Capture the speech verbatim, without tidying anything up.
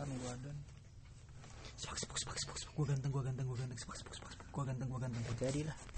gua dan sepak sepak sepak sepak gue ganteng gue ganteng gue ganteng sepak sepak sepak gue ganteng gue ganteng jadilah